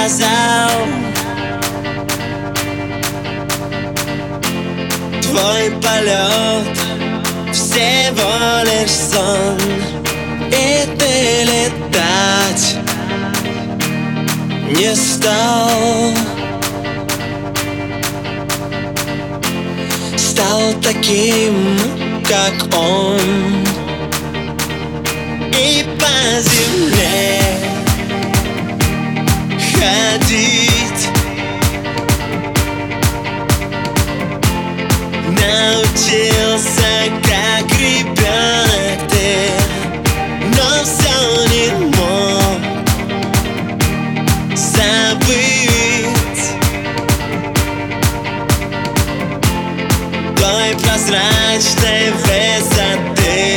сказал: твой полет всего лишь сон, и ты летать не стал. Стал таким, как он, и по земле ходить научился, как ребенок ты, но все не мог забыть той прозрачной высоты.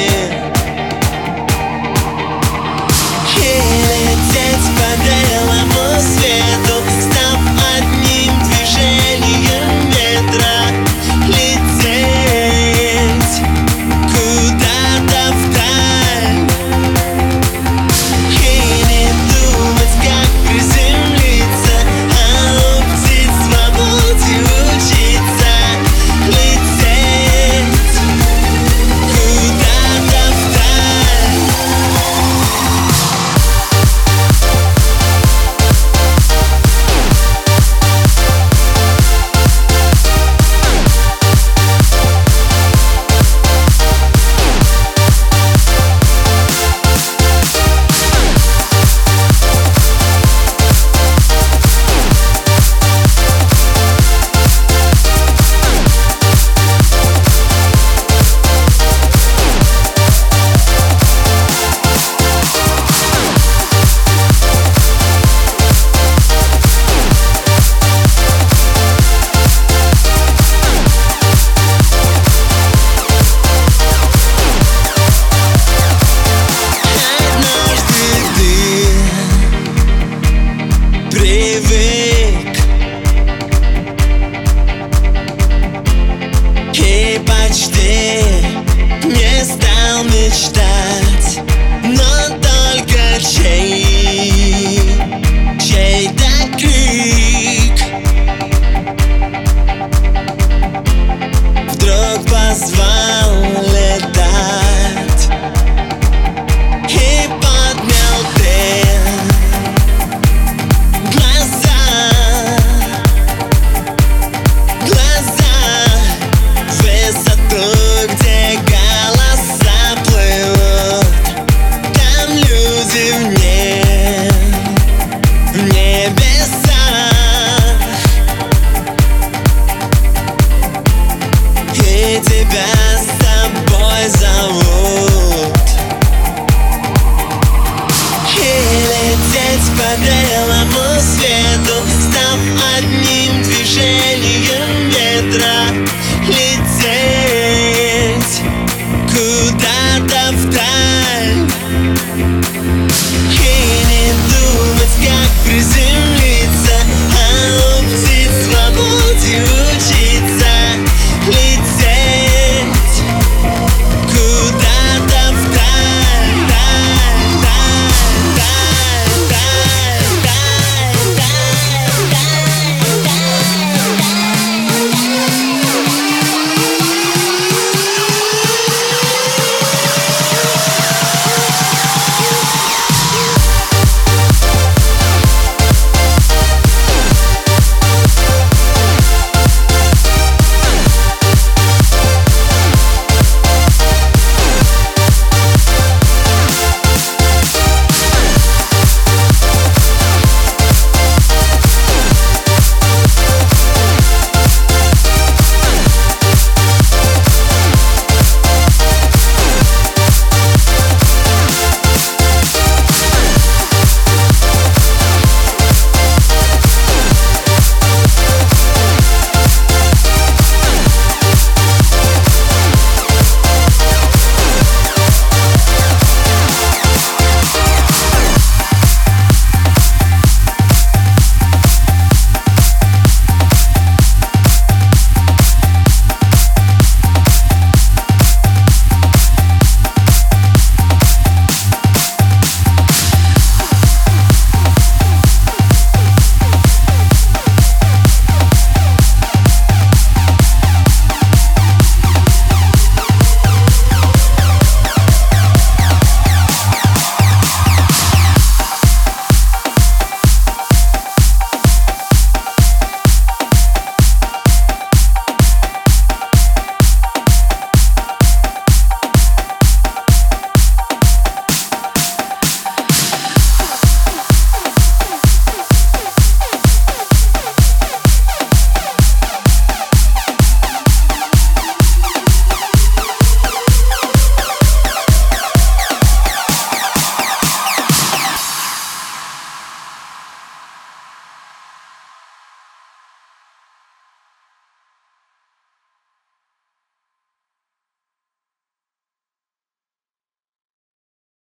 И лететь по белому свету, став одним движением ветра, лететь куда-то вдаль и не думать, как приземлиться, а у птиц свободе учиться. Лететь куда-то вдаль. Привык и почти не стал мечтать, но только чей-то крик вдруг позвал летать и поднял дым высоту, где голоса плывут. Там люди в небесах, и тебя с собой зовут. И лететь по белому свету, став одним движением ветра, лететь куда-то вдаль.